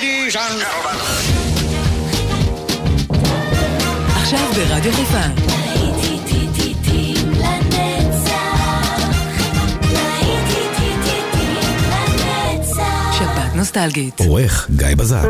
Ladies and gentlemen. עכשיו ברדיו חיפה. שבת נוסטלגית. עורך גיא בזק.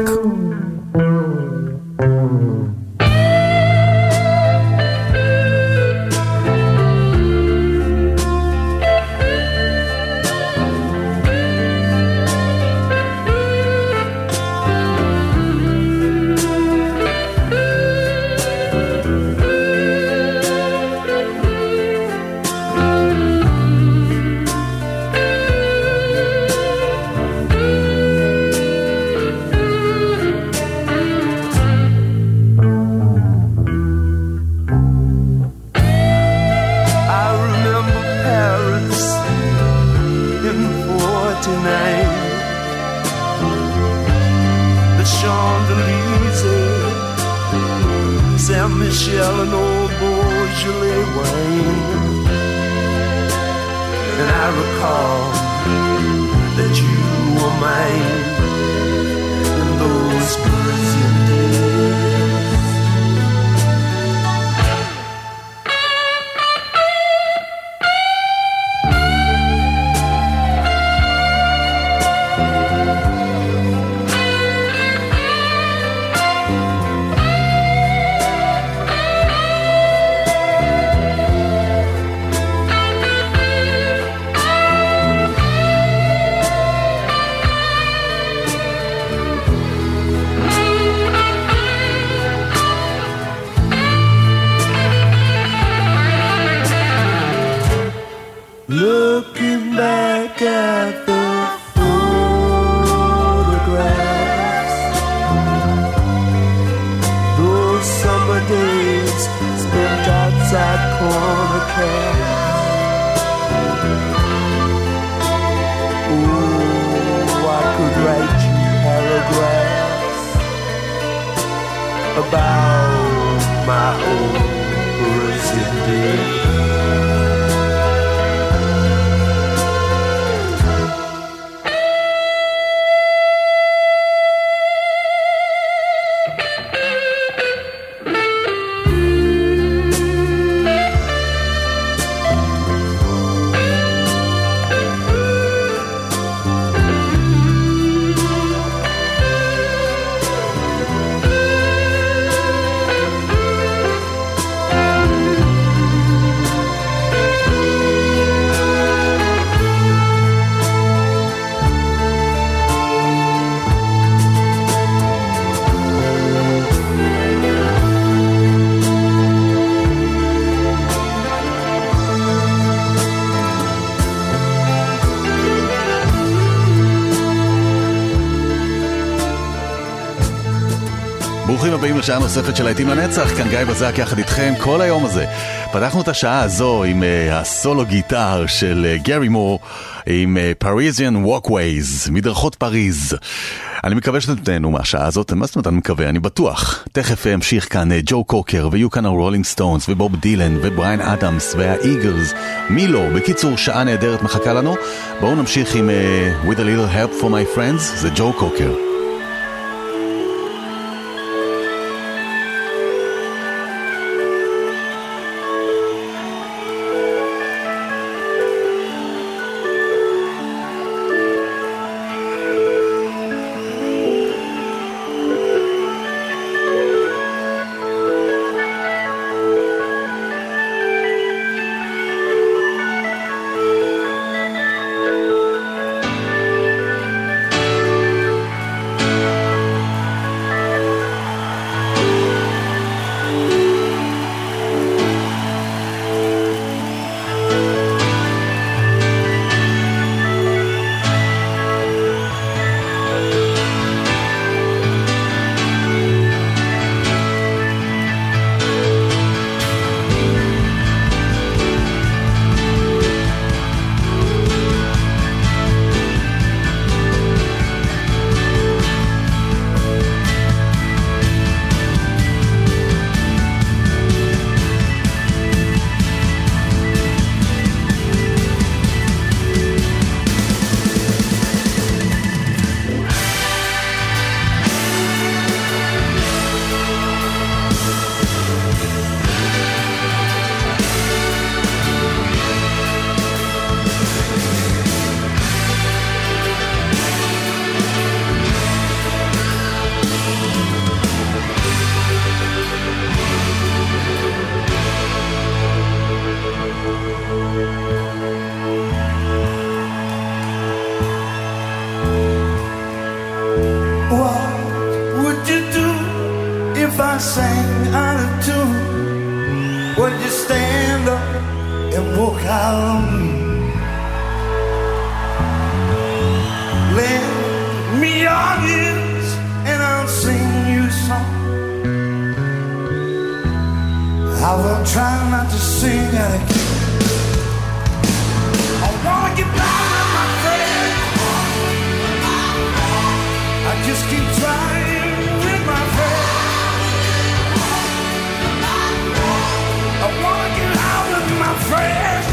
ברוכים הבאים לשעה נוספת של להיטים לנצח, כאן גיא בזק יחד איתכם כל היום הזה. פתחנו את השעה הזו עם הסולו גיטר של גרי מור, עם Parisian Walkways, מדרכות פריז. אני מקווה שאתם תהנו מהשעה הזאת, מה זאת אומרת אני מקווה, אני בטוח. תכף המשיך כאן ג'ו קוקר, ויהיו כאן הרולינג סטונס, ובוב דילן, ובריין אדמס, והאיגלס, מי לא, בקיצור שעה נהדרת מחכה לנו. בואו נמשיך עם With a Little Help for My Friends, זה ג'ו קוקר. sang out of tune, would you stand up and walk out on me? Lend me your ears and I'll sing you a song. I will try not to sing out of key. I wanna get down with my friends. I just keep trying with my friends. I wanna get out with my friends.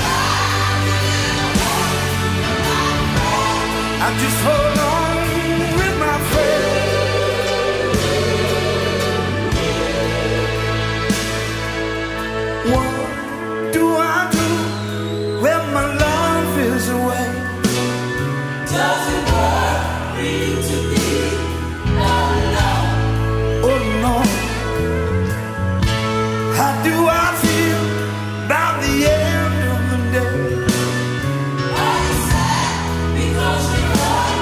I just hold on with my friends. What do I do when my love is away? Does it worry you to be alone? Oh no. How do I feel about the end of the day? Are you sad because you're alone?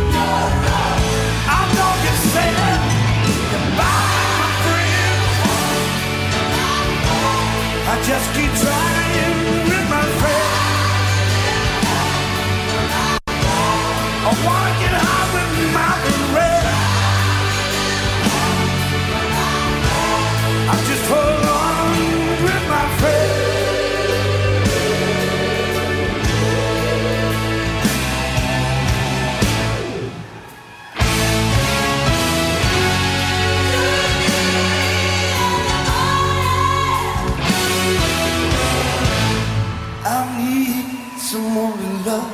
I know you're sad goodbye, my friend. I just keep trying with my friends. I wanna get out with my friends. I just hold on with my friends. I need someone to love.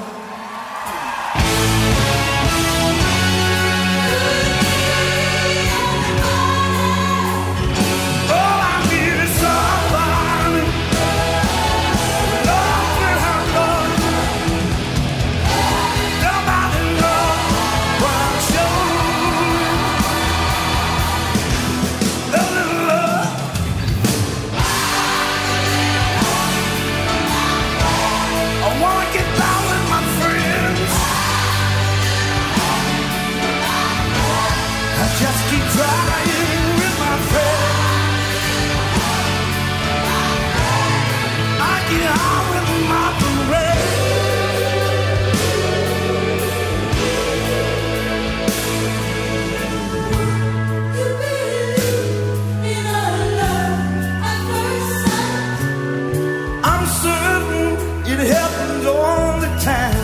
All I need is somebody love me, I love. Nobody knows what I'm showing. A little love. I wanna get down with my friends. I just keep trying with my friends. I get out with my friends. You believe in a love at first sight? I'm certain it happens all the time.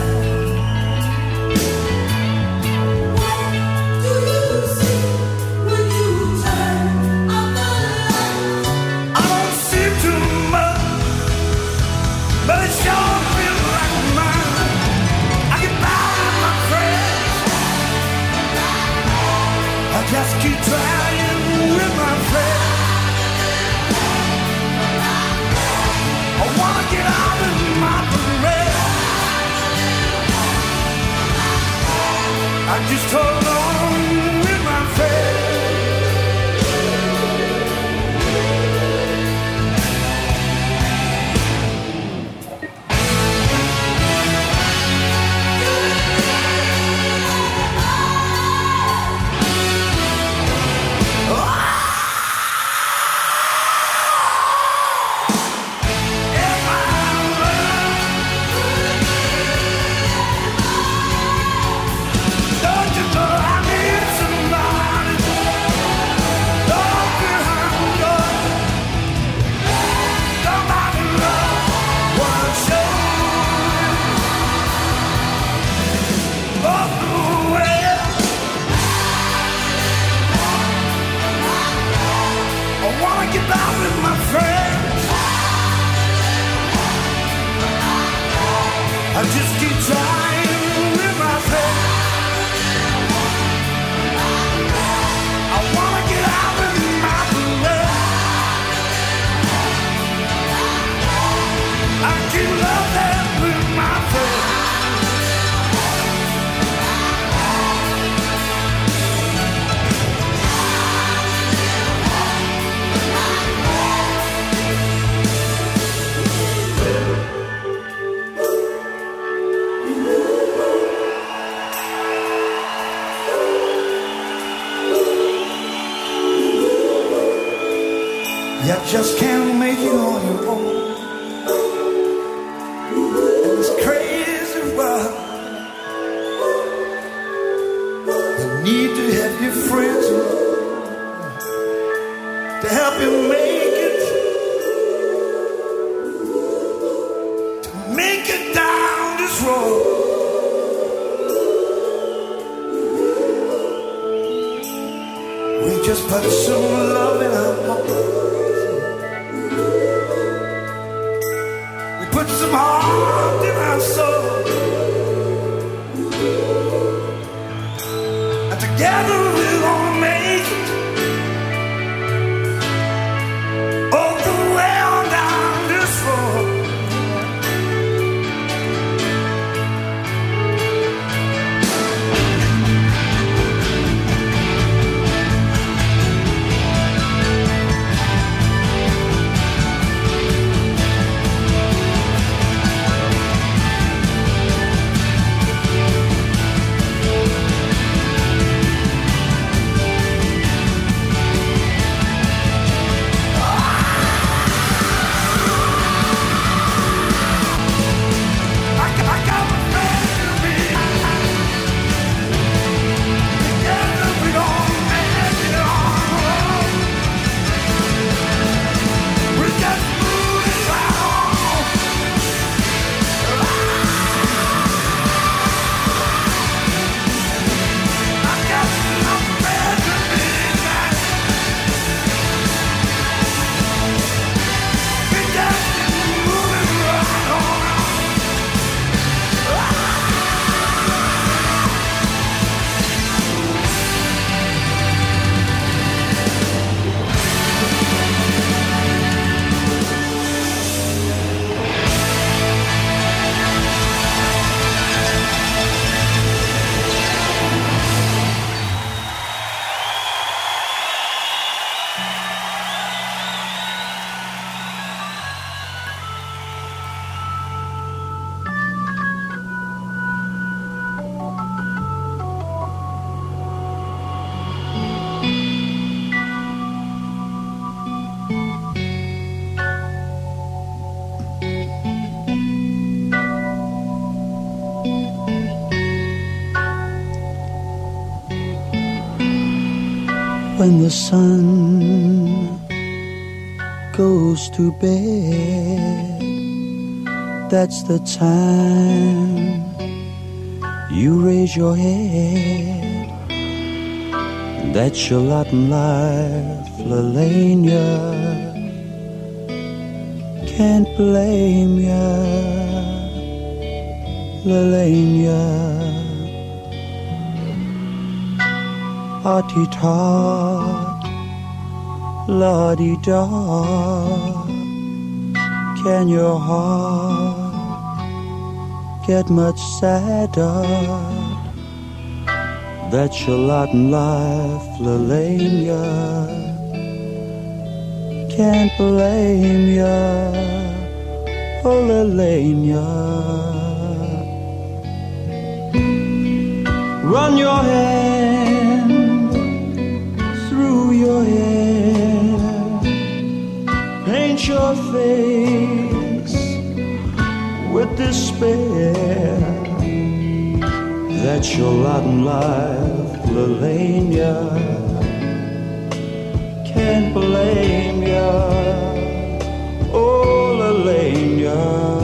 What do you see when you turn on the light? I don't see too much, but it sure feels like mine. I get by with my friends. I just keep trying with my friends. I wanna get out of my friends. I just hold on with my friends. Don't you know I need somebody? Don't behind door. Somebody love what I'm showing. All the way. I wanna get out with my friends. I just keep trying with my friends. I wanna get out with my friends. I keep loving with my friends. You just can't make it on your own. And it's crazy world. You need to have your friends to help you make it. To make it down this road. We just put some love in our hearts. We put some heart in our soul. And together we're gonna make it all the way on down this road. When the sun goes to bed, that's the time you raise your head. That's your lot in life, Lelania. Can't blame ya, Lelania. Hearty-tot, la-di-da. Can your heart get much sadder? That's your lot in life, Lelania. Can't blame ya, oh Lelania. Run your hand through your hair, paint your face with despair. That's your lot in life, Lelania. Can't blame ya, oh Lelania.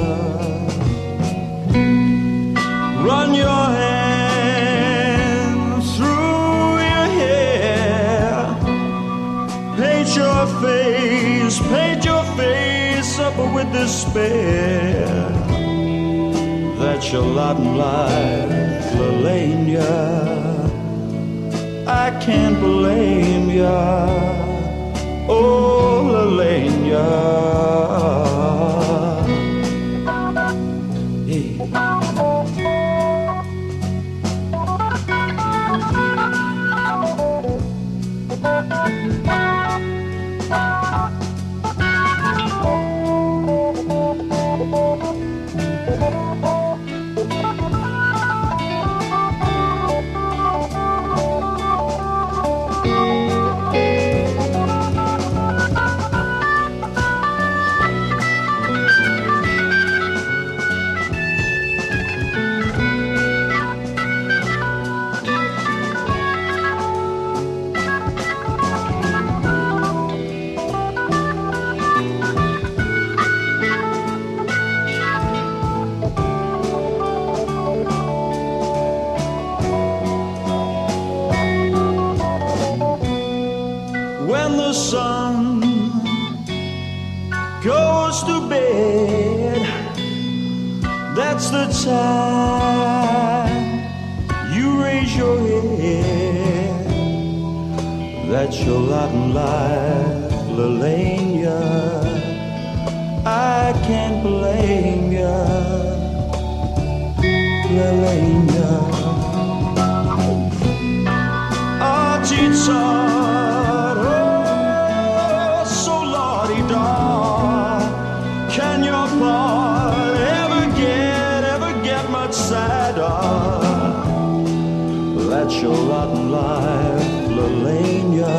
Run your hand through your hair, paint your face up with despair. That's your lot in life, Lelania. I can't blame ya, oh Lelania. Hey. the sun goes to bed, that's the time you raise your head. That's your lot in life, Lelania. I can't blame ya, Lelania. Artitsar, oh, so la-di-da. Can your part ever get much sadder? That's your lot in life, Lelania.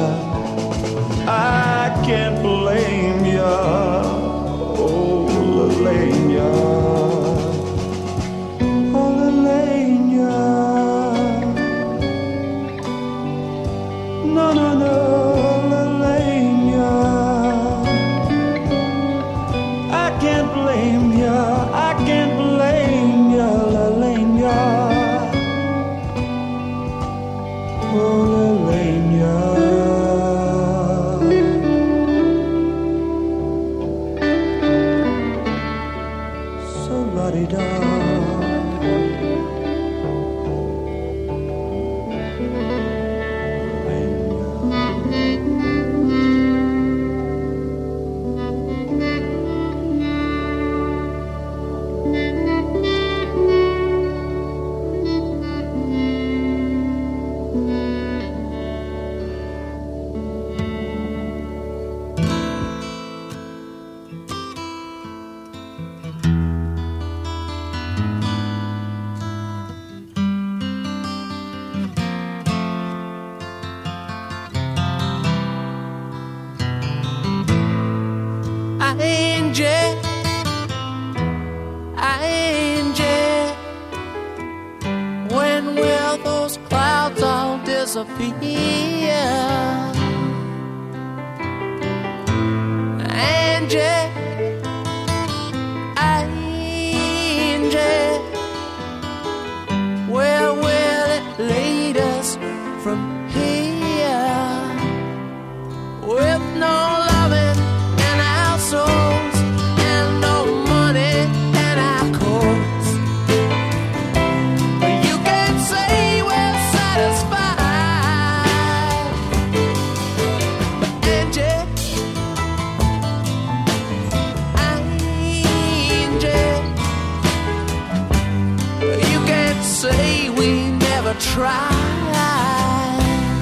I can't blame ya, oh, Lelania. Oh, Lelania. No, no, no, Lelania. I can't blame ya, I can't blame ya, Lelania. Oh, Lelania. So la-di-da. Disappear, Angie, Angie, where will it lead us from here? With no loving in our souls and no money in our coats, you can't say we're satisfied. Say we never tried,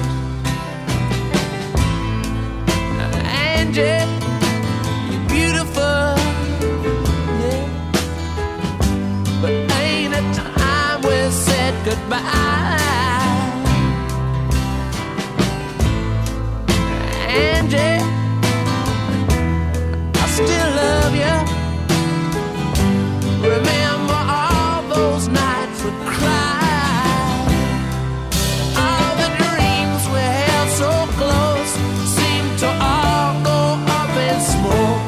Angie, you're beautiful, yeah, but ain't it time we said goodbye, Angie, I still love you. Remember all those nights we cried, all the dreams we held so close seem to all go up in smoke.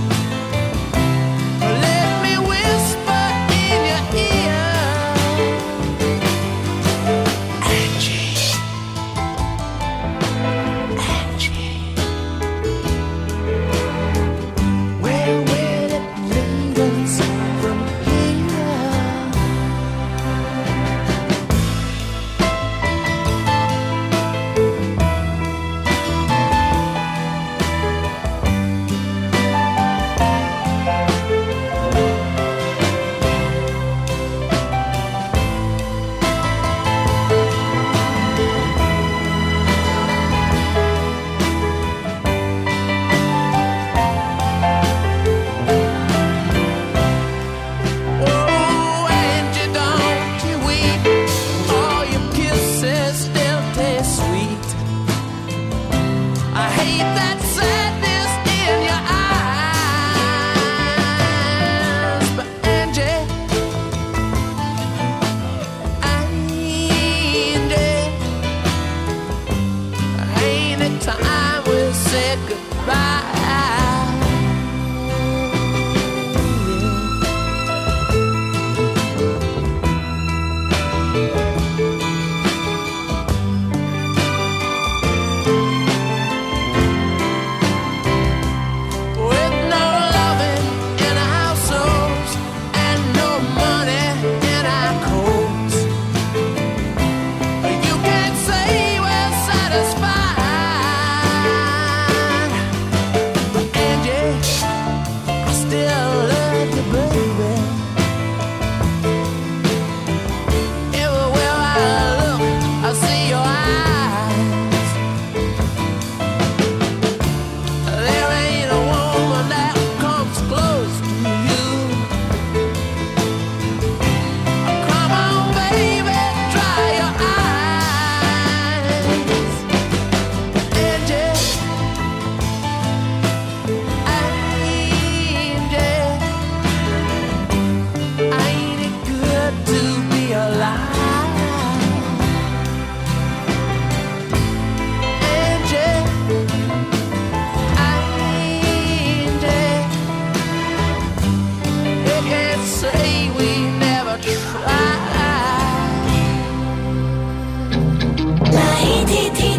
Let me whisper in your ear, Angie, Angie,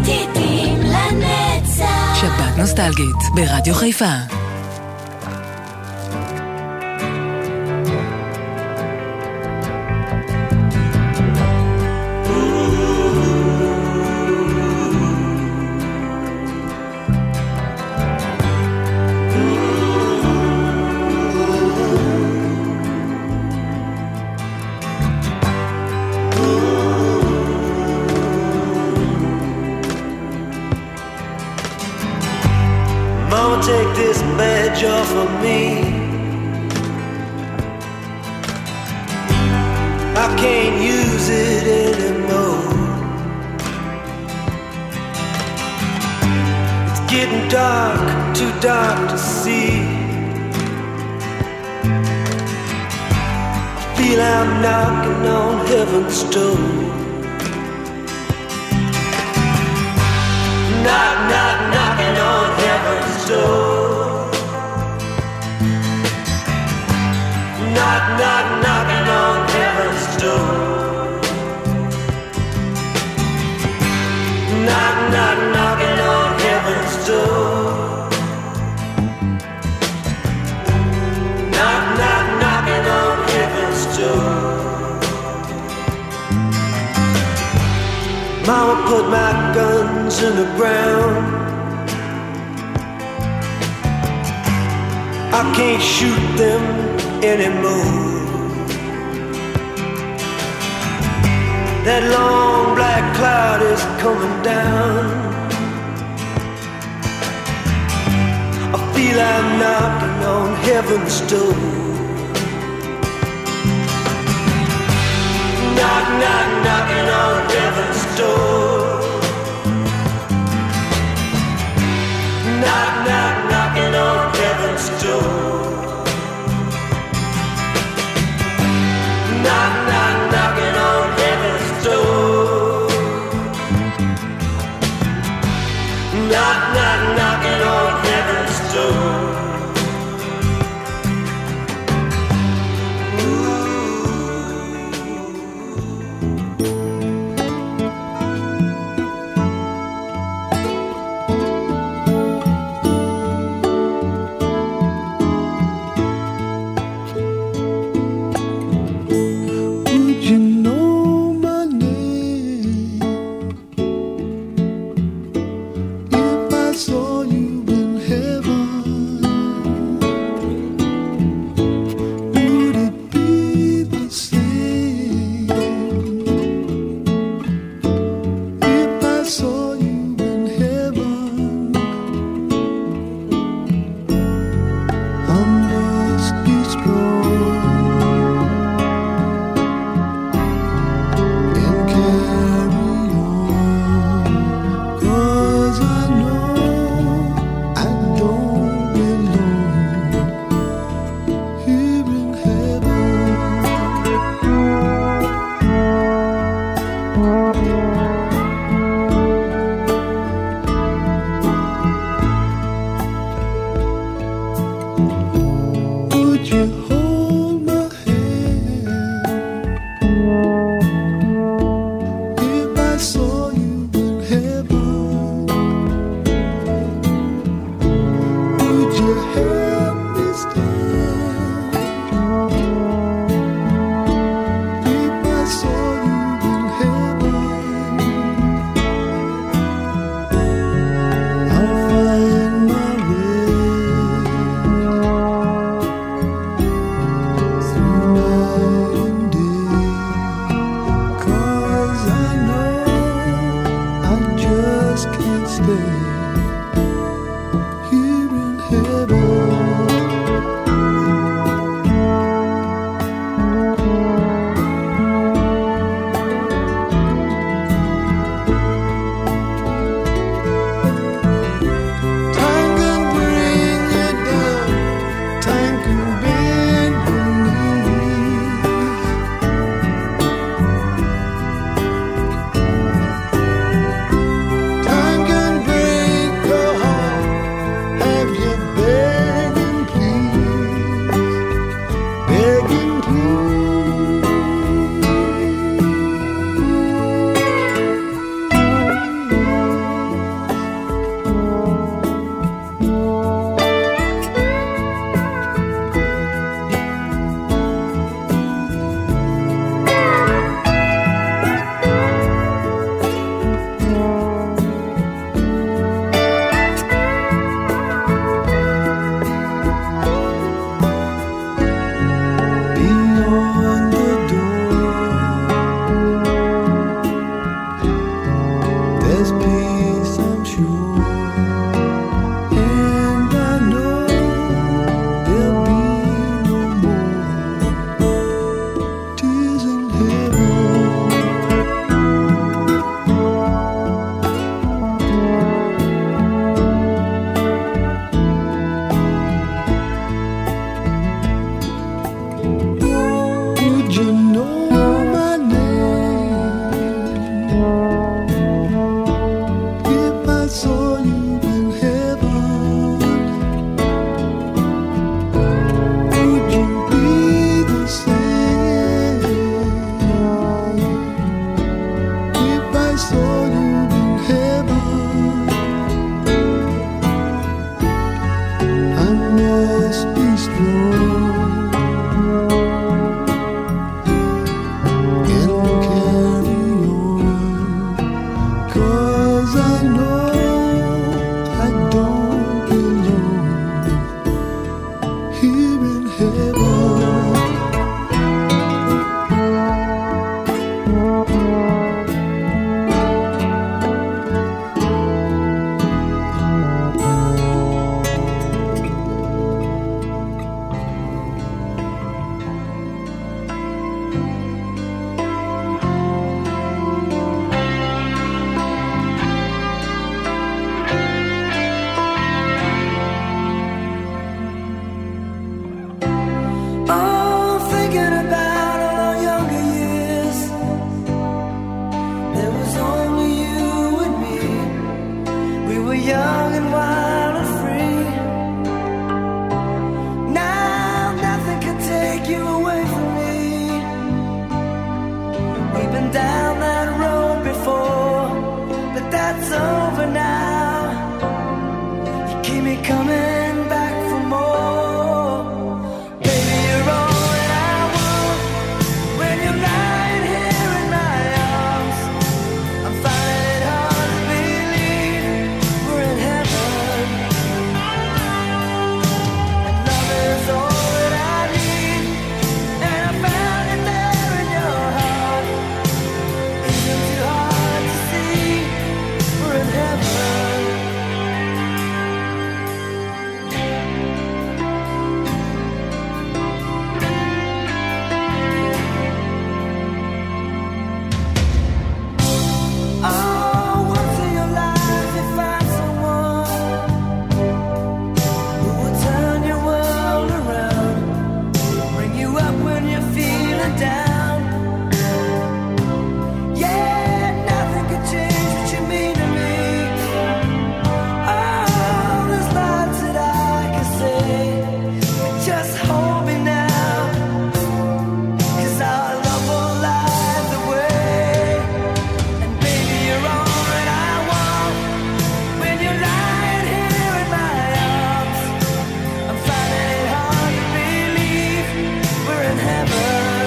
להיטים לנצח. שבת נוסטלגית ברדיו חיפה. Take this badge off of me. I can't use it anymore. It's getting dark, too dark to see. I feel I'm knocking on heaven's door. Knock, knock, knocking on heaven's door. Knock, knock, knocking on heaven's door. Knock, knock, knocking on heaven's door. Knock, knock, knocking on heaven's door. Mama put my guns in the ground. I can't shoot them anymore. That long black cloud is coming down. I feel I'm knocking on heaven's door. Knock, knock, knocking on heaven's door. Knock, knock, knocking on heaven's door. Knock, knock, knocking on heaven's door. Knock, knock, knocking on heaven's door. Bring young and wild and free. Now nothing can take you away from me. We've been down that road before, but that's over now. You keep me coming back for more. Baby, you're all that I want. When you're lying here in my arms, I'm finding it hard to believe we're in heaven. And love is all that I need, and I found it there in your heart. Isn't too hard to see we're in heaven. Oh, once in your life you find someone who will turn your world around, bring you up when you're feeling down. Yeah, nothing can change what you mean to me. Oh, there's lots that I can say, but just hold me now, 'cause our love will light the way. And baby, you're all that I want. When you're lying here in my arms, I'm finding it hard to believe we're in heaven.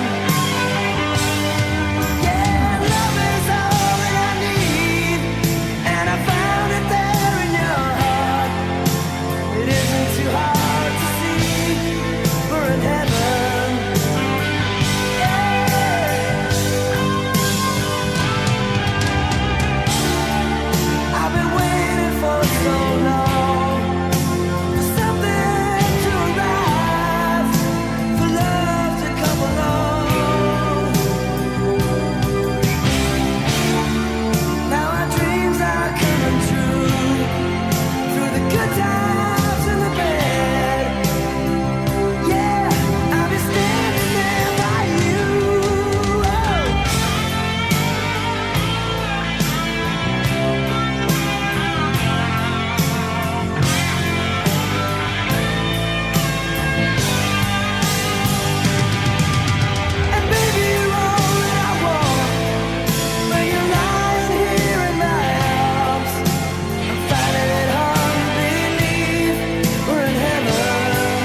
Yeah, love is all that I need, and I found it there in your heart. It isn't too hard to see we're in heaven. I've been waiting for so long, for something to arrive, for love to come along. Now our dreams are coming true, through the good times and the bad. Yeah, I'll be standing there by you. Oh. And baby, you're all that I want. When you're lying here in my arms, I'm finding it hard to believe we're in heaven.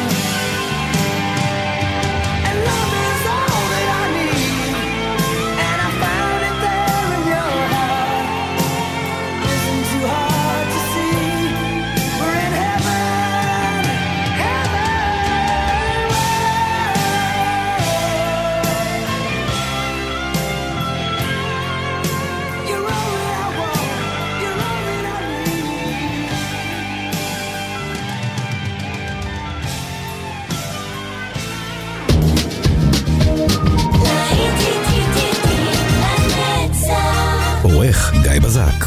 And love is all that I need, and I found it there in your heart. Isn't too hard to see we're in heaven, heaven. You're all that I want, you're all that I need. עורך גיא בזק.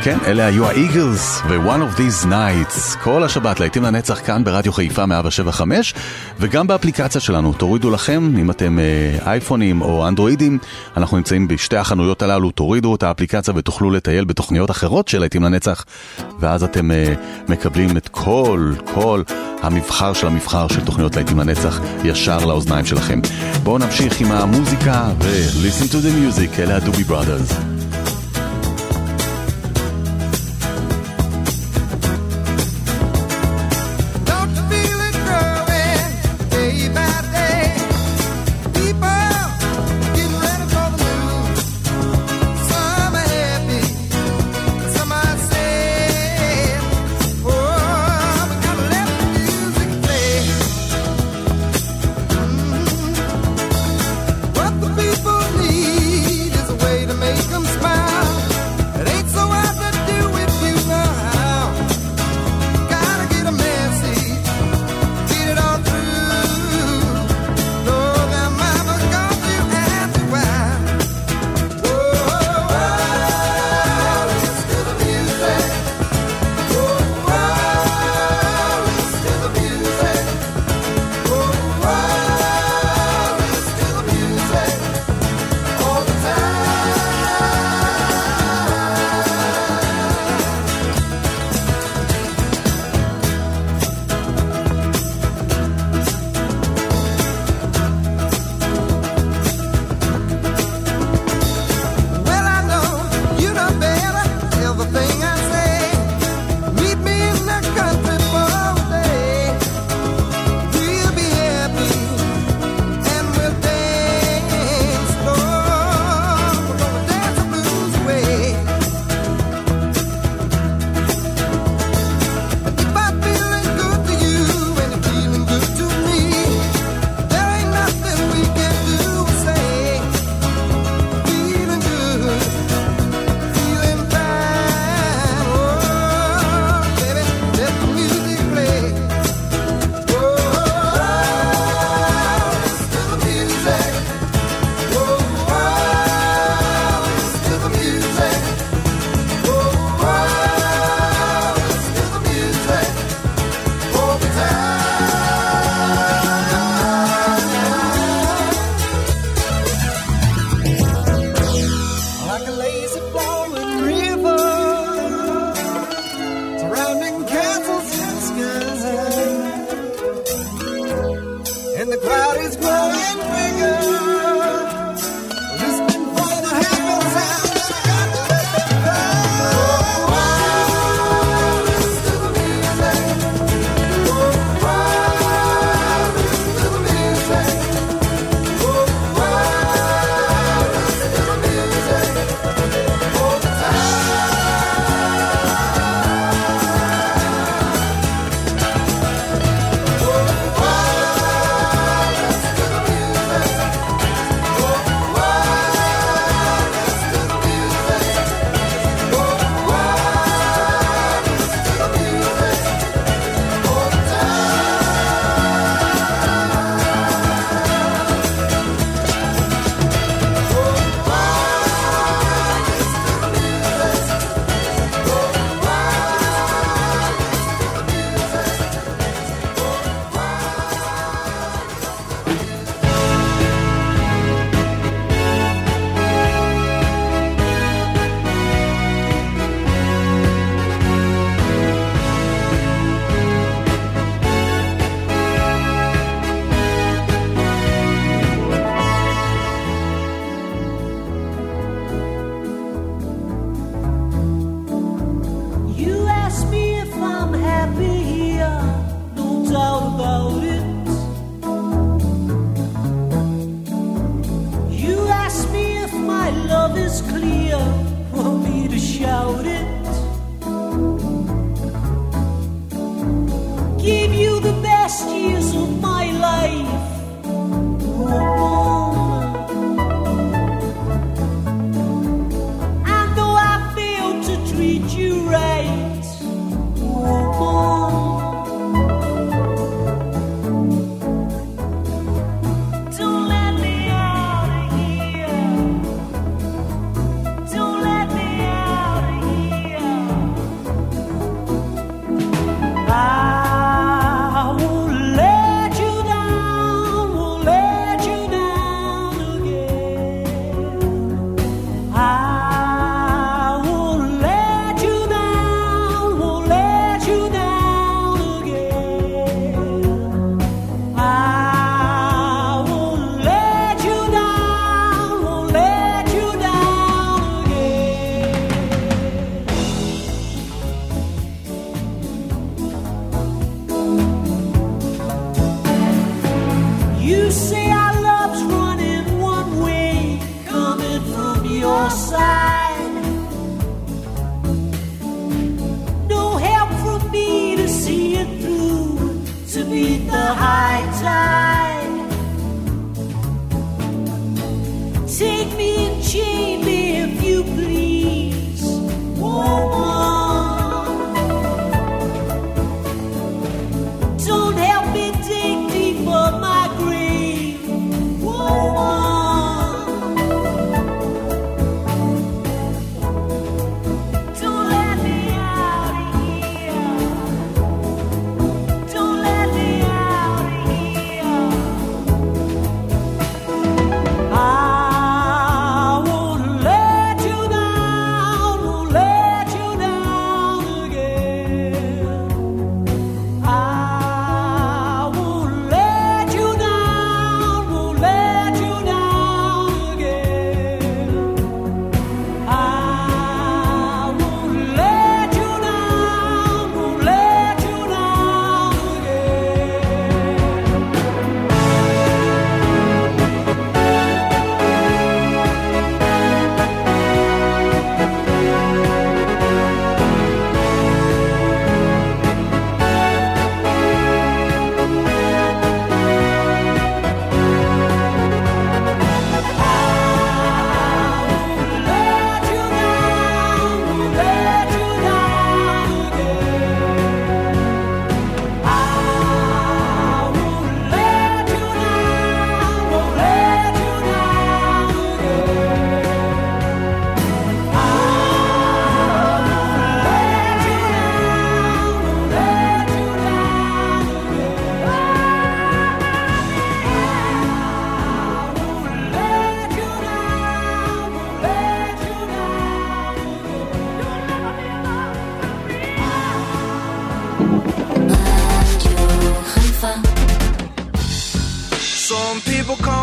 כן, אלה היו האיגלס ו-One of These Nights. כל השבת להיטים לנצח כאן ברדיו חיפה 175, וגם באפליקציה שלנו. תורידו לכם, אם אתם אייפונים או אנדרואידים, אנחנו נמצאים בשתי החנויות הללו, תורידו את האפליקציה ותוכלו לטייל בתוכניות אחרות של להיטים לנצח, ואז אתם מקבלים את כל המבחר של תוכניות להיטים לנצח ישר לאוזניים שלכם. בואו נמשיך עם המוזיקה ו-listen to the music, אלה הדובי בראדרס. What the people need is a way to make them stay.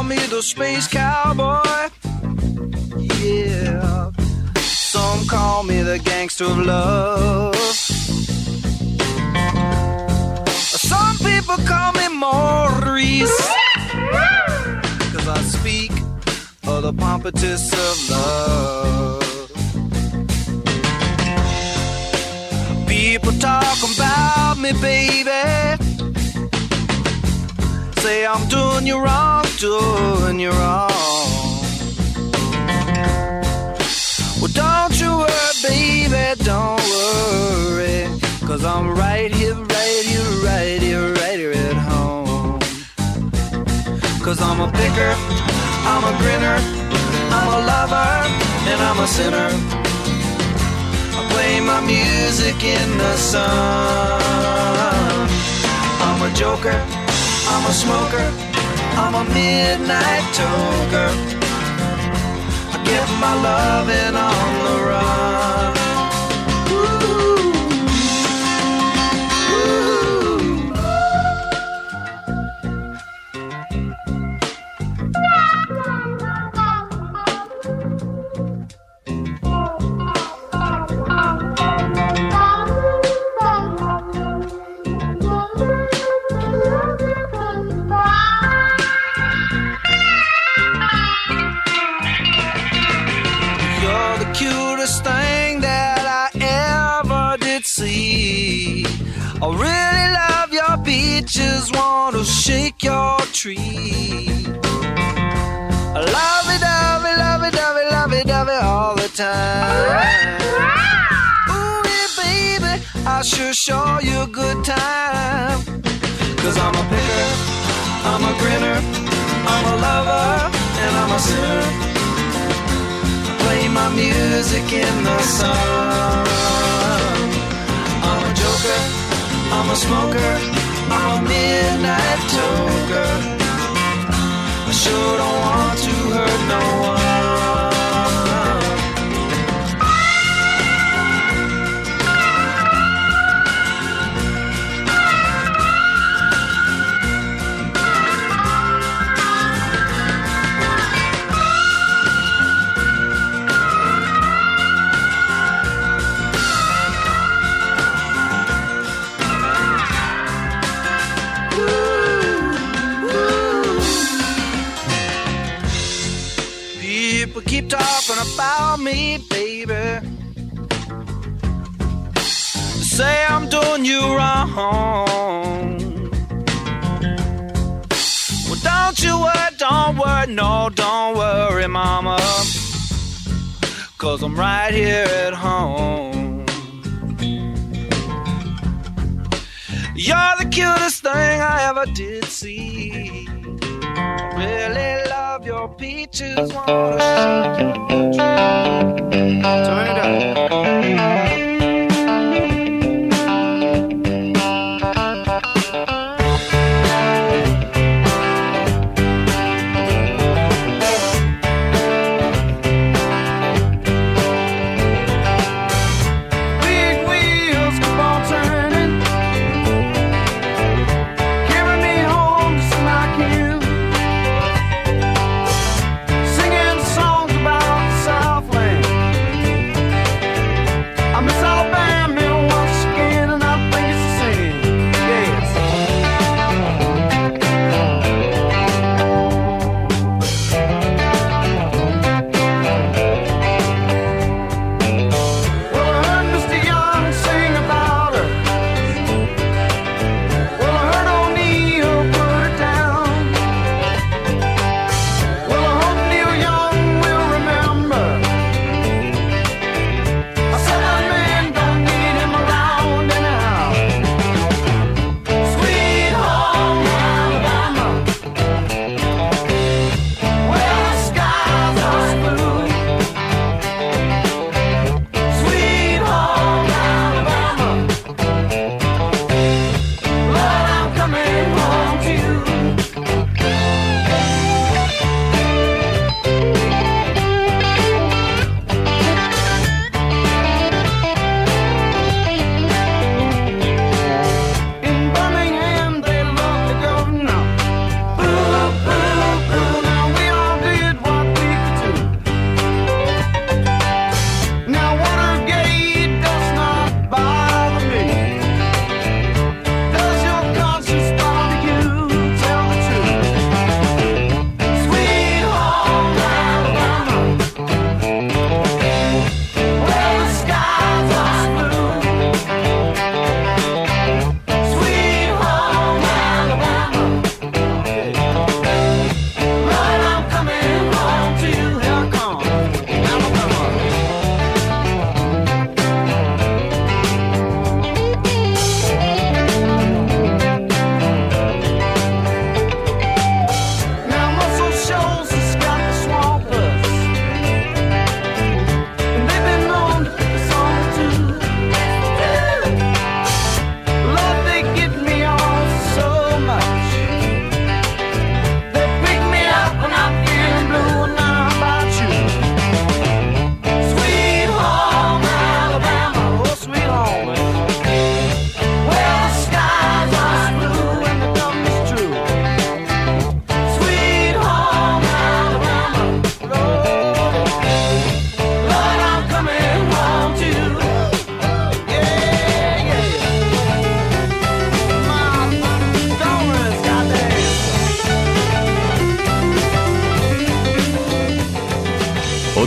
me the space cowboy. Yeah. Some call me the gangster of love. Some people call me Maurice, 'cause I speak of the pompatus of love. People talk about me, baby, say I'm doing you wrong, doing you wrong. Well, don't you worry, baby, don't worry, 'cause I'm right here, right here, right here, right here at home. 'Cause I'm a picker, I'm a grinner, I'm a lover, and I'm a sinner. I play my music in the sun. I'm a joker, I'm a smoker, I'm a midnight toker. I get my loving on the run. I really love your beaches, want to shake your tree. I love it, love it, love it, love it, love it, love it all the time. Ooh, yeah, baby, I sure show you a good time. 'Cause I'm a picker, I'm a grinner, I'm a lover, and I'm a sinner. I play my music in the sun. I'm a joker, I'm a smoker, I'm a midnight toker. I sure don't want to hurt no one. Keep talking about me, baby. Say I'm doing you wrong. Well, don't you worry, don't worry, no, don't worry, mama, 'cause I'm right here at home. You're the cutest thing I ever did see. I really love your peaches, wanna shake your tree. Turn it up.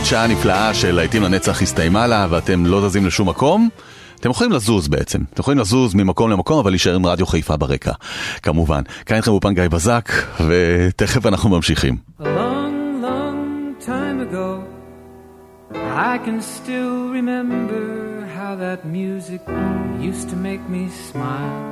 עוד שעה נפלאה של להיטים לנצח הסתיימה לה, ואתם לא זזים לשום מקום. אתם יכולים לזוז בעצם. אתם יכולים לזוז ממקום למקום, אבל להישאר עם רדיו חיפה ברקע. כמובן. כאן איתכם אופן גיא בזק, ותכף אנחנו ממשיכים. A long, long time ago, I can still remember how that music used to make me smile.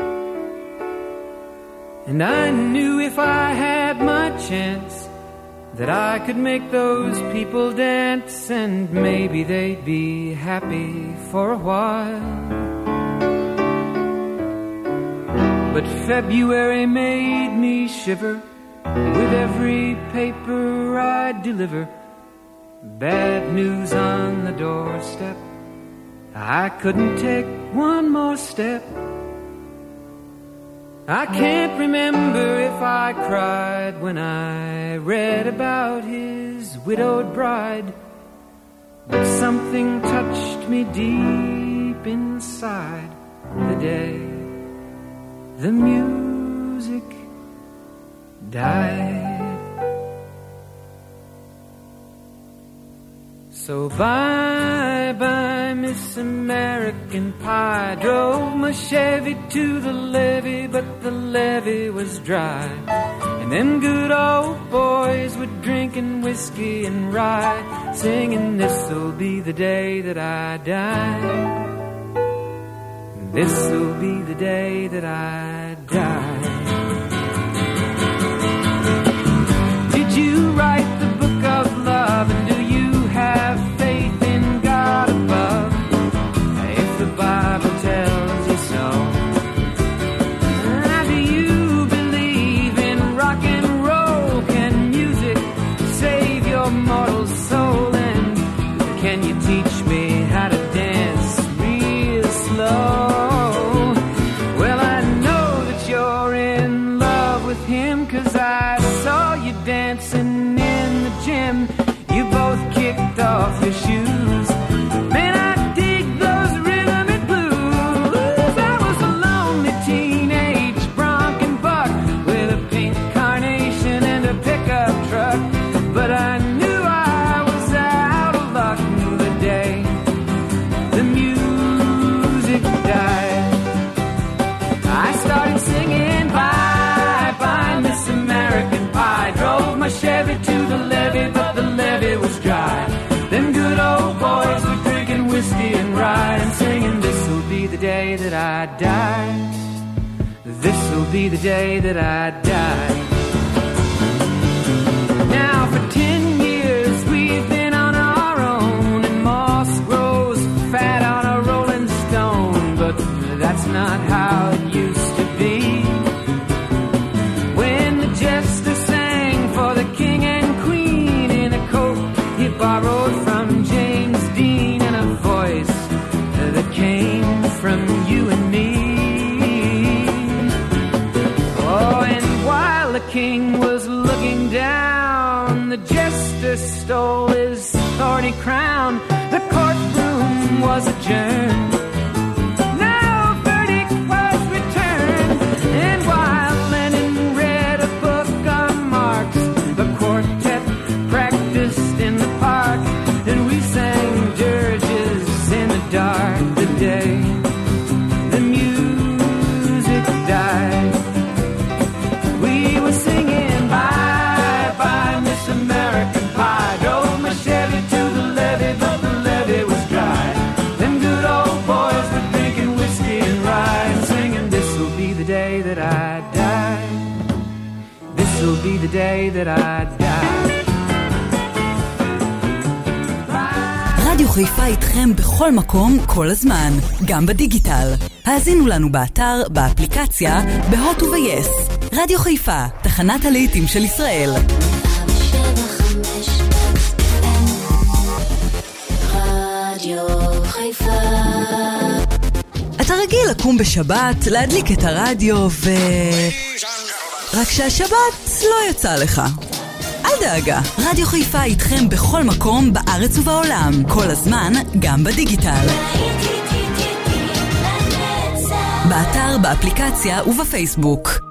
And I knew if I had my chance that I could make those people dance, and maybe they'd be happy for a while. But February made me shiver with every paper I'd deliver. Bad news on the doorstep, I couldn't take one more step. I can't remember if I cried when I read about his widowed bride, but something touched me deep inside the day the music died. So bye-bye, Miss American Pie. Drove my Chevy to the levee, but the levee was dry. And them good old boys were drinking whiskey and rye, singing, this'll be the day that I die. This'll be the day that I die. Did you write the book of love, and do you have faith in God above? If the Bible tells you so. Do you believe in rock and roll? Can music save your mortal soul? And can you teach me how to dance real slow? Well, I know that you're in love with him, 'cause I saw you dancing in the gym. You both kicked off your shoes. Man, I dig those rhythm and blues. I was a lonely teenage bronc and buck with a pink carnation and a pickup truck, but I knew I was out of luck the day the music died. I started singing bye-bye, Miss American Pie. Drove my Chevy to the levee, but the levee was dry. Them good old boys were drinking whiskey and rye, and singing, this'll be the day that I die. This'll be the day that I die. Now for 10 years we've been on our own, and moss grows fat on a rolling stone, but that's not how it used to be. When the jester sang for the king and queen in a coat he borrowed from James Dean, and a voice that came from you and me. Oh, and while the king was looking down, the jester stole his thorny crown. The courtroom was adjourned. No verdict was returned. And while Lenin read a book on Marx, the quartet practiced in the park, and we sang dirges in the dark the day the music died. We were singing bye-bye, Miss American Pie. Drove my Chevy to the levee, but the levee was dry. Them good old boys were drinking whiskey and rye, and singing, this'll be the day that I die. This'll be the day that I die. רדיו חיפה איתכם בכל מקום, כל הזמן, גם בדיגיטל. האזינו לנו באתר, באפליקציה, בהוט וביס. רדיו חיפה, תחנת הלהיטים של ישראל. רדיו חיפה. אתה רגיל לקום בשבת, להדליק את הרדיו רק שהשבת לא יצא לך. אל דאגה, רדיו חיפה איתכם בכל מקום בארץ ובעולם, כל הזמן, גם בדיגיטל. באתר, באפליקציה ובפייסבוק.